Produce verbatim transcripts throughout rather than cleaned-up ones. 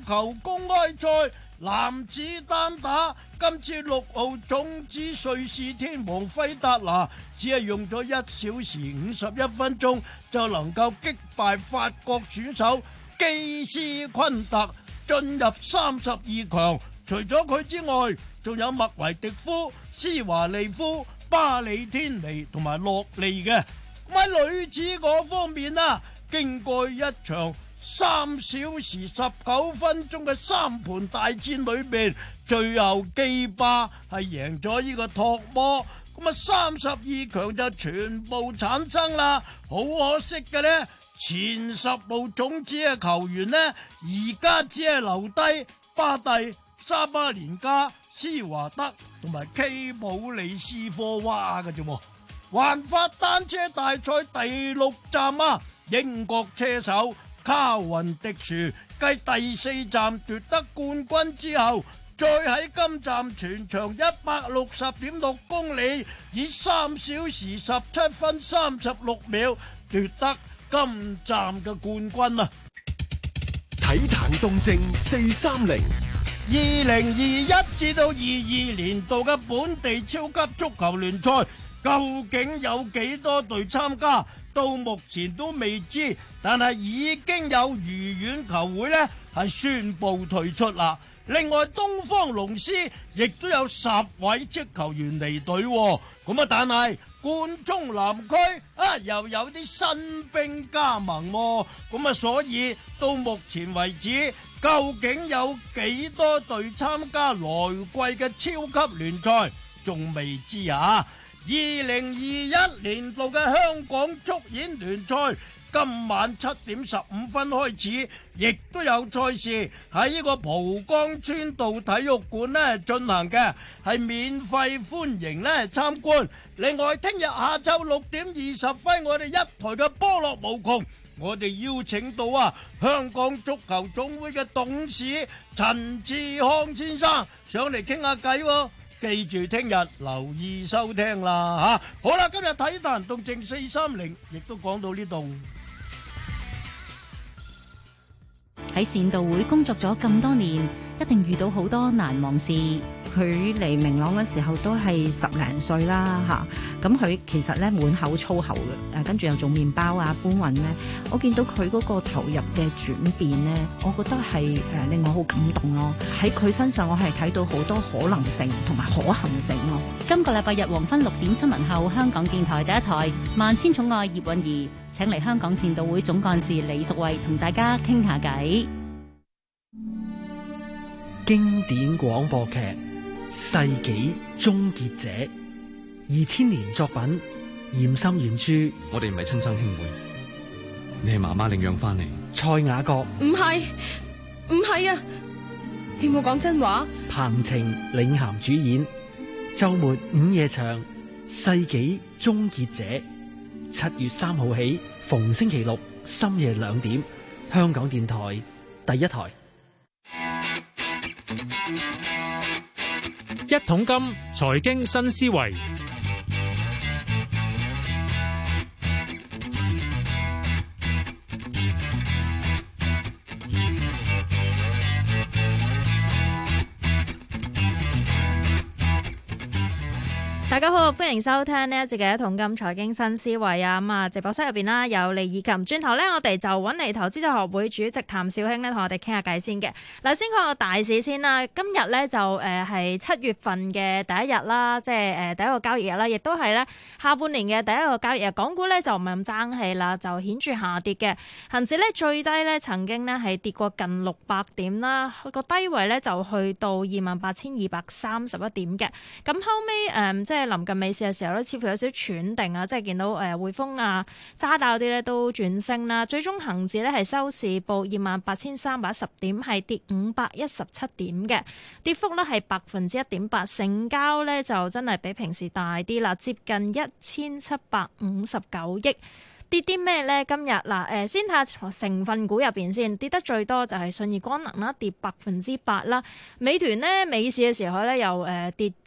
球公開賽男子單打，今次六號種子瑞士天王費達拿只係用咗一小時五十一分鐘就能夠擊敗法國選手基斯昆特，進入三十二強。除咗佢之外，仲有麥維迪夫、施華利夫、巴里天尼同埋洛利嘅。咁喺女子嗰方面啊，經過一場三小時十九分鐘嘅三盤大戰裏邊，最後基巴係贏咗呢個托摩，咁啊三十二強就全部產生啦。好可惜嘅呢，前十號種子嘅球員呢，而家只係留低巴蒂、沙巴連加、施華德同埋基普里斯科娃嘅啫。環法單車大賽第六站啊，英國車手卡雲迪殊繼第四站奪得冠軍之後，再喺今站全長一百六十點六公里，以三小時十七分三十六秒奪得今站嘅冠軍啊！ 體壇動靜四三零， 二零二一至到二二年度嘅本地超級足球聯賽，究竟有幾多隊參加？到目前都未知，但係已經有愉園球會呢係宣布退出啦。另外東方龍獅亦都有十位職球員離隊，咁啊但係冠忠南區啊又有啲新兵加盟，咁啊所以到目前為止，究竟有幾多隊參加來季嘅超級聯賽仲未知啊。二零二一年度嘅香港足演聯賽今晚七點十五分開始，亦都有賽事喺呢個蒲崗村道體育館咧進行嘅，係免費歡迎咧參觀。另外聽日下晝六點二十分，我哋一台嘅波樂無窮，我哋邀請到啊香港足球總會嘅董事陳志康先生上嚟傾下偈喎。記住聽日留意收聽啦吓。好啦，今日體壇動靜四三零亦都講到呢度。 喺善道會工作咗咁多年，一定遇到好多難忘事。 佢嚟明朗嘅時候都係十零歲啦嚇，咁佢其實咧滿口粗口嘅，誒跟住又做麵包啊搬運咧，我見到佢嗰個投入嘅轉變咧，我覺得係誒令我好感動咯。喺佢身上我係睇到好多可能性同埋可行性咯。 今個禮拜日黃昏六點新聞後，香港電台第一台《萬千寵愛葉韻儀》請嚟香港善道會總幹事李淑慧同大家傾下偈。 經典廣播劇《世紀終結者》，二千年作品，嚴沁原著。 我哋唔係親生兄妹，你係媽媽領養翻嚟。 蔡雅閣， 唔係，唔係啊！你冇講真話。 彭晴領銜主演，周末午夜場《世紀終結者》，七月三號起，逢星期六深夜兩點，香港電台第一台。 一桶金財經新思維， 大家好，歡迎收聽呢一節嘅一桶金財經新思維啊！咁啊，直播室入邊啦有李以琴，轉頭咧我哋就揾嚟投資者學會主席譚紹興咧同我哋傾下偈先嘅。嗱，先講個大市先啦。今日咧就誒係七月份嘅第一日啦，即係誒第一個交易日啦，亦都係咧下半年嘅第一個交易日。港股咧就唔係咁爭氣啦，就顯著下跌嘅。恒指咧最低咧曾經咧係跌過近六百點啦，個低位咧就去到二萬八千二百三十一點嘅。咁後尾誒、呃、即係臨近尾市嘅時候咧，似乎有少少喘定啊，即係見到誒匯豐啊、渣打嗰啲咧都轉升啦。最終恒指咧係收市報二萬八千三百一十點，係跌五百一十七點嘅，跌幅咧係百分之一點八。成交咧就真係比平時大啲啦，接近一千七百五十九億。跌啲咩咧？今日嗱誒，先睇下成分股入邊先，跌得最多就係信義光能啦，跌百分之八啦。美團咧，美市嘅時候咧又誒跌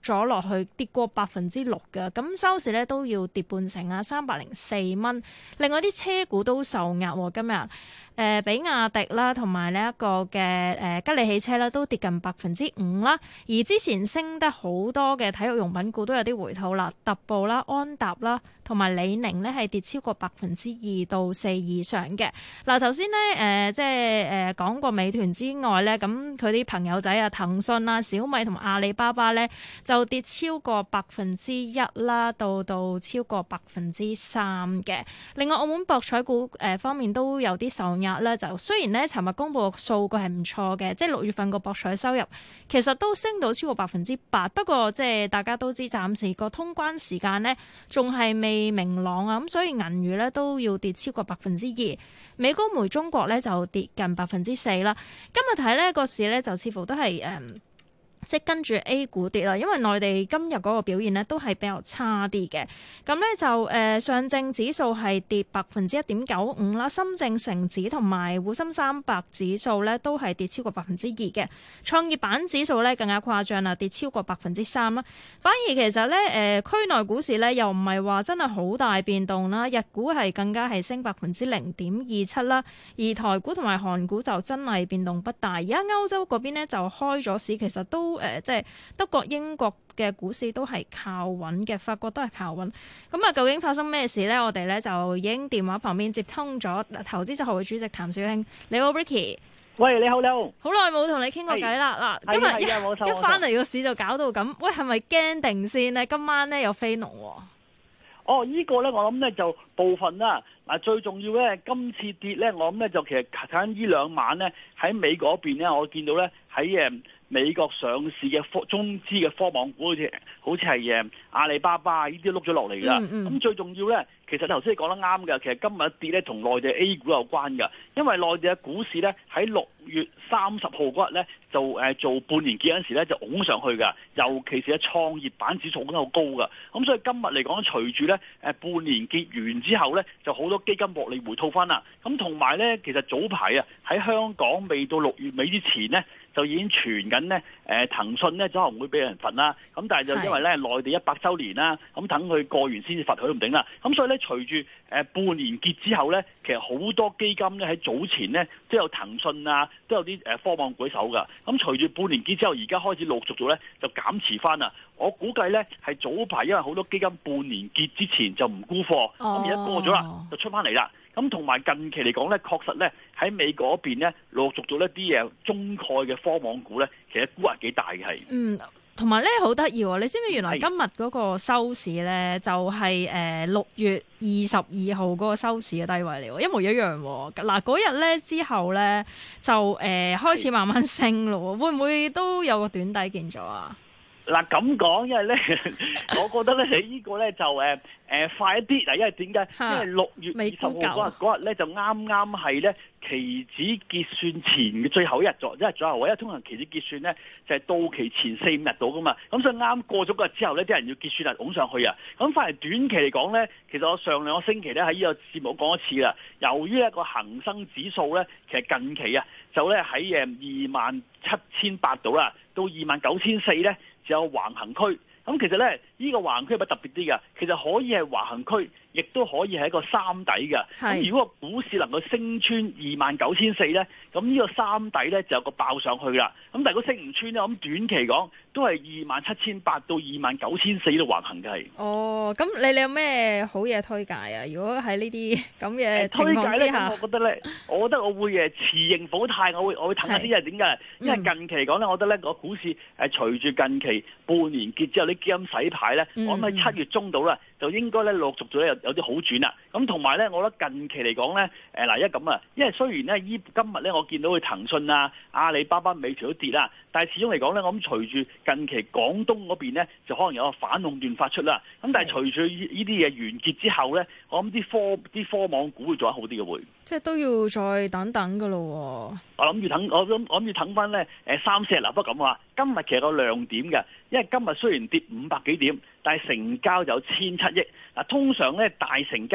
咗落去，跌過百分之六嘅，咁收市咧都要跌半成啊，三百零四蚊。另外啲車股都受壓喎，今日誒、呃、比亞迪啦，同埋呢一個嘅誒、呃、吉利汽車啦，都跌近百分之五啦。而之前升得好多嘅體育用品股都有啲回吐啦，特步啦、安踏啦，同埋李寧呢係跌超過百分之二到四以上嘅。嗱，頭先咧誒即係誒講過美團之外咧，咁佢啲朋友仔啊，騰訊啊、小米同埋阿里巴巴咧就跌超過百分之一啦，到到超過百分之三嘅。另外澳門博彩股誒方面都有啲受壓咧，就雖然咧尋日公布嘅數據係唔錯嘅，即係六月份個博彩收入其實都升到超過百分之八，不過即係大家都知暫時個通關時間咧仲係未明朗啊，咁所以銀娛咧都要跌超過百分之二，美高梅中國咧就跌近百分之四啦。今日睇呢個市咧就似乎都係誒。嗯即係跟住 A 股跌啦，因為內地今日嗰個表現咧都係比較差啲嘅。咁咧就誒、呃、上證指數係跌百分之一點九五啦，深證成指同埋滬深三百指數咧都係跌超過百分之二嘅。創業板指數咧更加誇張啦，跌超過百分之三啦。反而其實咧誒、呃、區內股市咧又唔係話真係好大變動啦，日股係更加係升百分之零點二七啦，而台股同埋韓股就真係變動不大。而家歐洲嗰邊咧就開咗市，其實都誒、呃、即係德國、英國嘅股市都係靠穩嘅，法國都係靠穩。咁啊，究竟發生咩事呢？我哋咧就已經電話旁邊接通咗投資者學會主席譚紹興。你好 Ricky， 喂，你好你好， 好耐冇同你傾過偈啦。嗱，今日一一翻嚟個市就搞到咁，喂，係咪驚定先呢？今晚咧有飛龍喎。 哦，呢、這個咧我諗咧就部分啦。嗱，最重要咧，今次跌咧，我諗咧就其實睇緊呢兩晚咧喺美國嗰邊咧，我見到咧喺誒美國上市嘅科中資嘅科網股好似好似係誒阿里巴巴呢啲碌咗落嚟㗎。咁、嗯嗯、最重要咧，其實頭先你講得啱㗎。其實今日一跌咧同內地 A 股有關㗎，因為內地嘅股市咧喺六月三十號嗰日咧就誒做半年結嗰陣時咧就拱上去㗎，尤其是喺創業板指數都好高㗎。咁所以今日嚟講，隨住咧誒半年結完之後咧，就好多基金獲利回吐翻啦。咁同埋咧，其實早排啊喺香港未到六月尾之前咧，就已經傳緊咧誒騰訊咧可能會俾人罰啦。咁但係就因為咧內地一百週年啦，咁等佢過完先至罰佢都唔定啦。咁所以咧隨住誒半年結之後咧，其實好多基金咧喺早前咧都有騰訊啊，都有啲誒科網股手㗎。咁隨住半年結之後，而家開始陸續做咧就減持翻啦。我估計咧係早排因為好多基金半年結之前就唔沽貨，咁而家過咗啦就出翻嚟啦。咁同埋近期嚟講咧，確實咧喺美國嗰邊咧陸續做一啲嘢中概嘅科網股咧，其實估係幾大嘅係。嗯， 同埋咧好得意喎！你知唔知原來今日嗰個收市咧就係誒六月二十二號嗰個收市嘅低位嚟喎，一模一樣喎。嗱嗰日咧之後咧就誒、呃、開始慢慢升咯，會唔會都有個短底見咗啊？ 嗱咁講，因為咧，我覺得咧，你呢個咧就誒誒、呃、快一啲嗱，因為點解？因為六月二十號嗰日嗰日咧就啱啱係咧期指結算前嘅最後一日咗，一日左右。因為通常期指結算咧就係、是、到期前四五日到噶嘛，咁所以啱過咗嗰日之後咧，啲人要結算啊，拱上去啊。咁反而短期嚟講咧，其實我上兩個星期咧喺呢個節目講一次啦。由於一個恒生指數咧，其實近期啊就咧喺誒二萬七千八度啦，到二萬九千四咧。就有橫行區，咁其實咧，呢、這個橫行區係咪特別啲㗎？其實可以係橫行區，亦都可以係一個三底㗎。咁如果個股市能夠升穿二萬九千四咧，咁呢個三底咧就有個爆上去啦。咁但係如果升唔穿咧，咁短期講都係二萬七千八到二萬九千四度橫行嘅係。哦，咁你你有咩好嘢推介啊？如果喺呢啲咁嘅情況之下，我覺得咧，我覺得我會誒持盈保泰，我會我會等下啲人點解？因為近期嚟講咧，我覺得咧個股市誒隨住近期半年結之後啲基金洗牌咧，嗯、我諗喺七月中度啦，就應該咧陸續咗有有啲好轉啦。咁同埋咧，我覺得近期嚟講咧，誒嗱，一咁啊，因為雖然咧依今日咧我見到佢騰訊啊、阿里巴巴、美團都跌啦，但係始終嚟講咧，我諗隨住近期廣東嗰邊咧，就可能有個反壟斷發出啦。咁但係隨住呢啲嘢完結之後咧，我諗啲科啲科網股會做得好啲嘅會。即係都要再等等㗎咯。我諗住等，我諗我諗住等翻咧誒三四日啦。不過咁話，今日其實個亮點嘅，因為今日雖然跌五百幾點，但係成交有千七億。嗱，通常咧大成交不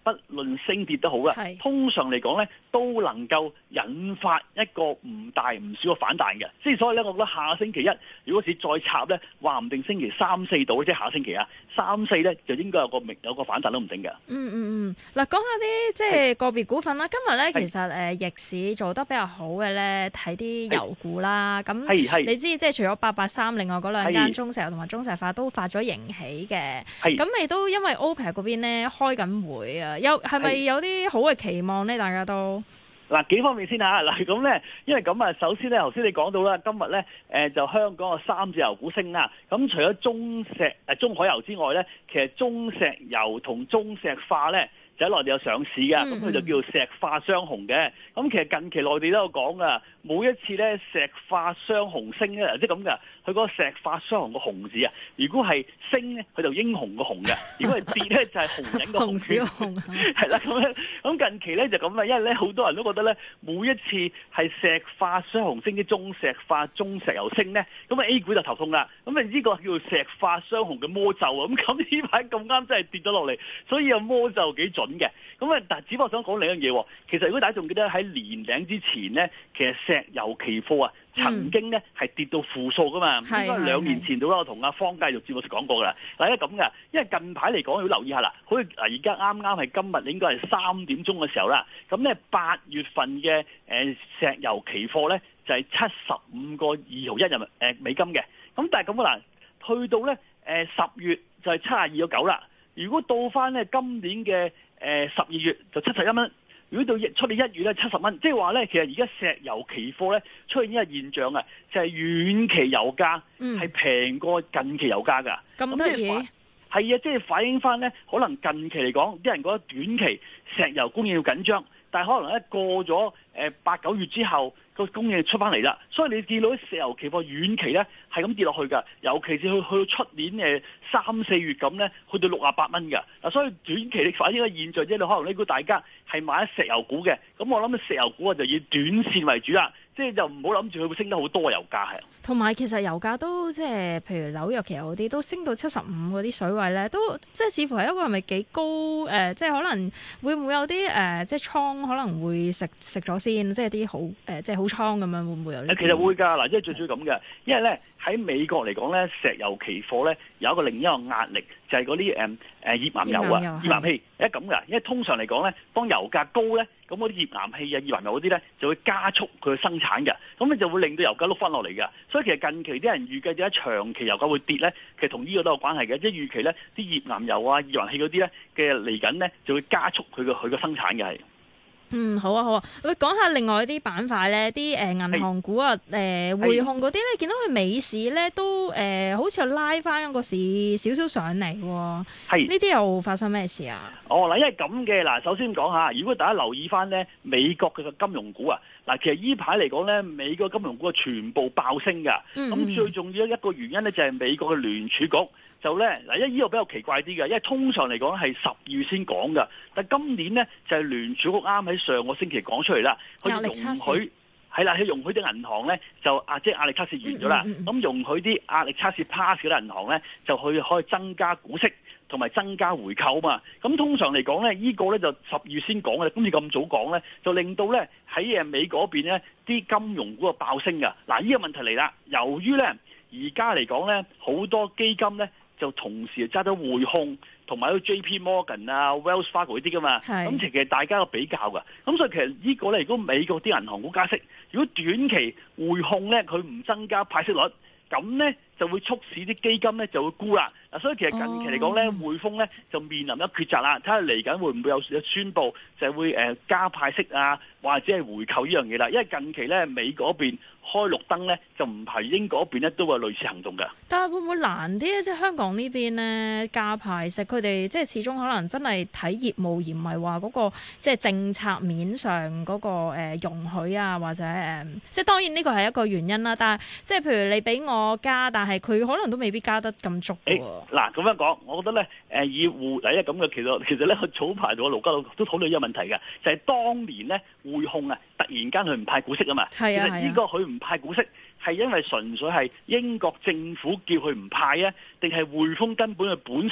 不論升跌都好啦，通常嚟講咧都能夠引發一個唔大唔少嘅反彈嘅。即係所以咧，我覺得下星期一如果是再插咧，話唔定星期三四到，即係下星期啊，三四咧就應該有個有個反彈都唔定嘅。 嗯嗯嗯，嗱，講下啲即係個別股份啦。今日咧其實誒逆市做得比較好嘅咧，睇啲油股啦。咁你知即係除咗八八三，另外嗰兩間中石油同埋中石化都發咗盈喜嘅。咁你都因為 OPEC 嗰邊咧開緊會啊，有係咪有啲好嘅期望咧？大家都嗱幾方面先嚇，嗱咁咧，因為咁啊，首先咧，頭先你講到啦，今日咧誒就香港嘅三隻油股升啦。咁除咗中石誒中海油之外咧，其實中石油同中石化咧就喺內地有上市嘅，咁佢就叫做石化雙雄嘅。咁其實近期內地都有講噶，每一次咧石化雙雄升咧，即係咁噶。佢嗰個石化雙雄個雄字啊，如果係升咧，佢就英雄個雄嘅；如果係跌咧，就係紅人個紅。紅小紅係啦，咁咧，咁近期咧就咁啦，因為咧好多人都覺得咧，每一次係石化雙雄升，啲中石化、中石油升咧，咁啊 A 股就頭痛啦。咁啊呢個叫做石化雙雄嘅魔咒啊！咁咁呢排咁啱真係跌咗落嚟，所以啊魔咒幾準嘅。咁啊，但係只不過想講另一樣嘢，其實如果大家仲記得喺年頂之前咧，其實石油期貨啊曾經咧係跌到負數噶嘛。應該兩年前到啦，我同阿方介玉節目講過噶啦。嗱，因為咁噶，因為近排嚟講要留意下啦。好似嗱，而家啱啱係今日應該係三點鐘嘅時候啦。咁咧八月份嘅誒石油期貨咧就係七十五個二毫一人誒美金嘅。咁但係咁啊嗱，去到咧誒十月就係七十二個九啦。如果到翻咧今年嘅誒十二月就七十一蚊。如果到出年一月咧七十蚊，即係話咧，其實而家石油期貨咧出現一個現象啊，就係遠期油價係平過近期油價㗎。咁得意係啊，即係反映翻咧，可能近期嚟講，啲人覺得短期石油供應要緊張，但係可能咧過咗誒八九月之後，個供應出翻嚟啦。所以你見到啲石油期貨遠期咧係咁跌落去㗎，尤其是去去到出年誒三四月咁咧，去到六啊八蚊㗎。嗱，所以短期你反映個現象啫，你可能呢個大家係買石油股嘅，咁我諗石油股啊就以短線為主啦，即係就唔好諗住佢會升得好多油價係。 同埋其實油價都即係譬如紐約期油嗰啲都升到七十五嗰啲水位咧，都即係似乎係一個係咪幾高誒、呃？即係可能會唔會有啲誒、呃？即係倉可能會食食咗先，即係啲好誒、呃，即係好倉咁樣會唔會有呢？ 其實會㗎，嗱，即係最主要咁嘅，因為咧喺美國嚟講咧，石油期貨咧有一個另一個壓力，就係嗰啲誒誒頁岩油啊、頁岩氣，因為咁㗎，因為通常嚟講咧，當油價高咧，咁嗰啲頁岩氣啊、頁岩油嗰啲咧就會加速佢嘅生產嘅，咁你就會令到油價碌翻落嚟嘅。所以其實近期啲人預計點解長期油價會跌咧，其實同呢個都有關係嘅，即係預期咧啲頁岩油啊、頁岩氣嗰啲咧嘅嚟緊咧就會加速佢嘅佢嘅生產嘅係。 嗯，好啊，好啊。喂，講下另外一啲板塊咧，啲誒銀行股啊，誒、呃、匯控嗰啲咧，見到佢美市咧都誒、呃、好似又拉翻個市少少上嚟喎。係呢啲又發生咩事啊？ 哦，嗱，因為咁嘅嗱，首先講下，如果大家留意翻咧美國嘅金融股啊，嗱，其實依排嚟講咧，美國金融股啊全部爆升㗎。咁、嗯、最重要一個原因咧就係美國嘅聯儲局。就咧嗱，因為呢個比較奇怪啲嘅，因為通常嚟講係十二月先講㗎，但係今年咧就係聯儲局啱喺上個星期講出嚟啦，佢容許係啦，佢容許啲銀行咧就啊，即係壓力測試完咗啦，咁、嗯嗯嗯、容許啲壓力測試 pass 嗰啲銀行咧就去可以增加股息同埋增加回購嘛。咁通常嚟講咧，呢、這個咧就十二月先講嘅，今次咁早講咧，就令到咧喺誒美嗰邊咧啲金融股啊爆升㗎。嗱，呢個問題嚟啦，由於咧而家嚟講咧好多基金咧。就同時揸咗匯控同埋嗰 J P Morgan 啊、Wells Fargo 嗰啲噶嘛，咁其實大家有比較噶，咁所以其實呢個咧，如果美國啲銀行股加息，如果短期匯控咧佢唔增加派息率，咁咧就會促使啲基金咧就會沽啦。嗱，所以其實近期嚟講咧，匯豐咧就面臨一抉擇啦，睇下嚟緊會唔會有有宣佈就係會誒加派息啊，或者係回購呢樣嘢啦。因為近期咧美嗰邊開綠燈咧，就唔係英嗰邊咧都會有類似行動嘅。 但係會唔會難啲咧？即係香港呢邊咧加派息，佢哋即係始終可能真係睇業務，而唔係話嗰個即係政策面上嗰個誒容許啊，或者誒即係當然呢個係一個原因啦。但係即係譬如你俾我加，但係佢可能都未必加得咁足嘅喎。 嗱，咁樣講，我覺得咧，誒以匯嚟咧咁嘅，其實其實咧，早排同盧家樂都討論呢個問題嘅，就係、是、當年咧匯控啊，突然間佢唔派股息啊嘛。係啊，其實呢個佢唔派股息係因為純粹係英國政府叫佢唔派啊，定係匯豐根本佢本身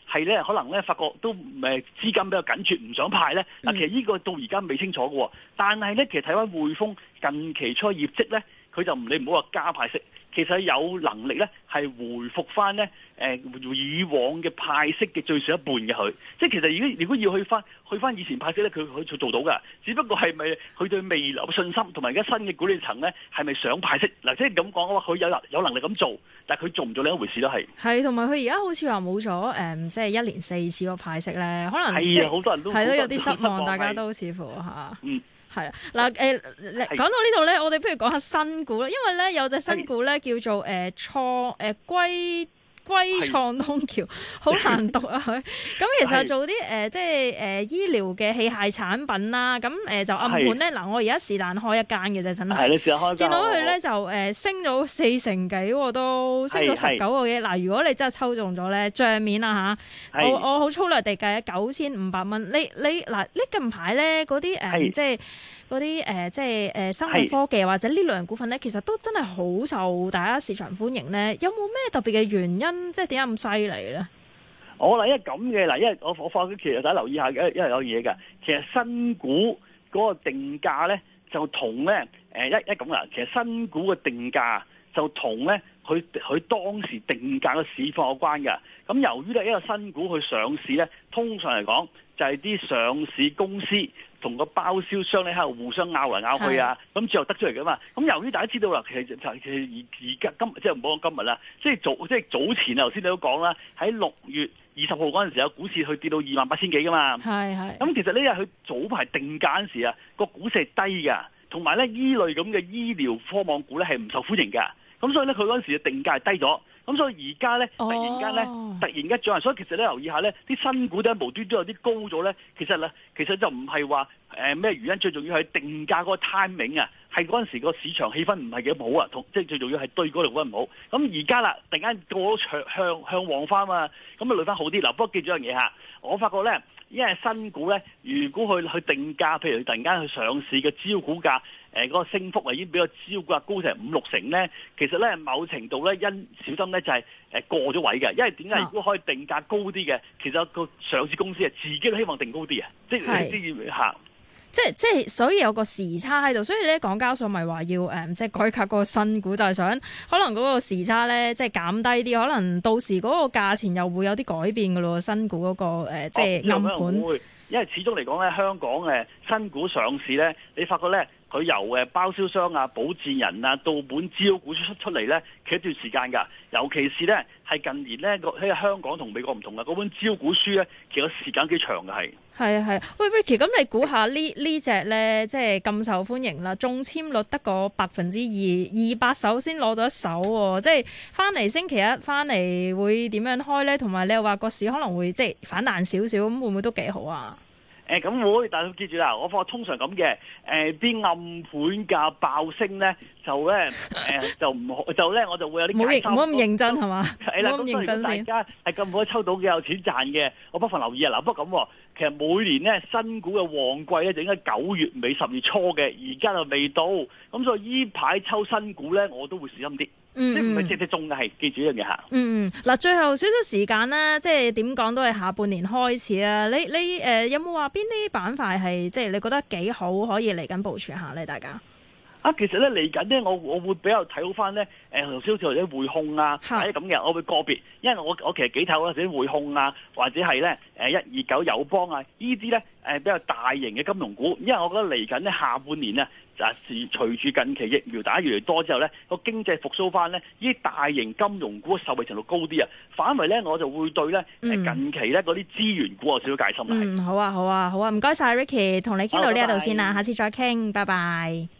係咧可能咧發覺都誒資金比較緊缺，唔想派咧。嗱，其實呢個到而家未清楚嘅，但係咧其實睇翻匯豐近期出業績咧，佢就唔你唔好話加派息。其實有能力咧，係回復翻咧誒以往嘅派息嘅最少一半嘅佢，即係其實如果如果要去翻去翻以前派息咧，佢佢做做到㗎。只不過係咪佢對未來嘅信心同埋而家新嘅管理層咧，係咪想派息嗱？即係咁講嘅話，佢有有能力咁做，但係佢做唔做另一回事都係。 係，同埋佢而家好似話冇咗誒，即係一年四次個派息咧，可能係啊，好多人都係咯，有啲失望，大家都似乎嚇。 嗯。 係啊，嗱誒，講到呢度咧，我哋不如講下新股啦，因為咧有隻新股咧叫做誒創誒歸歸創東橋，好難讀啊佢。咁其實做啲誒、呃、即係誒、呃、醫療嘅器械產品啦，咁誒、呃、就暗盤咧。嗱，我而家是但開一間嘅啫，真係。係你試下開間。見到佢咧就誒、呃、升咗四成幾喎，都升咗十九個幾。嗱，如果你真係抽中咗咧，帳面啊嚇，我我好粗略地計啊，九千五百蚊。你你嗱，呢近排咧嗰啲誒即係。嗰啲誒即係誒生物科技或者呢類型股份咧，其實都真係好受大家市場歡迎咧。有冇咩特別嘅原因，即係點解咁犀利咧？ 我嗱，因為咁嘅嗱，因為我我發覺其實大家留意下嘅，因為有嘢㗎。其實新股嗰個定價咧，就同咧誒一一咁啦。其實新股嘅定價就同咧佢佢當時定價嘅市況有關㗎。咁由於咧一個新股去上市咧，通常嚟講就係啲上市公司同個包銷商咧喺度互相拗嚟拗去啊，咁最後得出嚟噶嘛。咁由於大家知道啦，其實就係其實而而家今即係唔好講今日啦，即係早即係早前啊，頭先你都講啦，喺六月二十號嗰陣時有股市去跌到二萬八千幾噶嘛。係係。咁其實呢日佢早排定價嗰陣時啊，個股市係低㗎，同埋咧依類咁嘅醫療科網股咧係唔受歡迎㗎。咁所以咧佢嗰陣時嘅定價係低咗。咁所以而家咧，突然間咧，突然間漲，所以其實咧留意下咧，啲新股咧無端端有啲高咗咧，其實咧，其實就唔係話誒咩原因，最重要係定價嗰個 timing 啊，係嗰陣時個市場氣氛唔係幾好啊，同即係最重要係對嗰度嗰唔好。咁而家啦，突然間過咗向向向旺翻嘛，咁啊累翻好啲。嗱，不過記住一樣嘢嚇，我發覺咧，因為新股咧，如果去去定價，譬如突然間去上市嘅招股價。誒嗰個升幅啊，已經比個招股價高成五六成咧。其實咧，某程度咧，因小心咧就係誒過咗位嘅。因為點解？如果可以定價高啲嘅，其實個上市公司啊，自己都希望定高啲啊。即係你知嚇， 即係即係，所以有個時差喺度。所以咧，港交所咪話要誒，即係改革嗰個新股，就係想可能嗰個時差咧，即係減低啲。可能到時嗰個價錢又會有啲改變㗎咯。新股嗰個誒，即係暗盤。會， 因為始終嚟講咧，香港誒新股上市咧，你發覺咧。佢由誒包銷商啊、保薦人啊到本招股出出嚟咧，企一段時間㗎。尤其是咧係近年咧個喺香港同美國唔同嘅嗰本招股書咧，其實時間幾長嘅係。 係啊係啊，喂 Ricky，咁你估下呢呢隻咧，即係咁受歡迎啦，中籤率得個百分之二，二百手先攞到一手喎，即係翻嚟星期一翻嚟會點樣開咧？同埋你又話個市可能會即係反彈少少，咁會唔會都幾好啊？ 誒咁會，但係記住啦，我發覺通常咁嘅，誒啲暗盤價爆升咧，就咧誒就唔好，就咧我就會有啲唔好唔好咁認真係嘛？ 係啦，咁所以大家係咁可以抽到嘅有錢賺嘅，我不妨留意啊！嗱，不過咁，其實每年咧新股嘅旺季咧就應該九月尾十月初嘅，而家就未到，咁所以依排抽新股咧我都會小心啲。嗯、即係唔係隻隻中嘅，係記住一樣嘢嚇。 嗯嗯，嗱，最後少少時間啦，即係點講都係下半年開始啊！你你誒、呃、有冇話邊啲板塊係即係你覺得幾好，可以嚟緊部署下咧？大家啊，其實咧嚟緊咧，我我會比較睇好翻咧誒，頭先好似或者匯控啊，或者咁嘅，我會個別，因為我我其實幾睇好或者匯控啊，或者係咧誒一二九友邦啊，呢啲咧誒比較大型嘅金融股，因為我覺得嚟緊咧下半年啊。就係隨住近期疫苗打越嚟越多之後咧，個經濟復甦翻咧，呢啲大型金融股嘅受惠程度高啲啊，反為咧我就會對咧誒近期咧嗰啲資源股有少少戒心啦。 嗯，好啊，好啊，好啊，唔該晒 Ricky，同你傾到呢一度先啦，下次再傾，拜拜。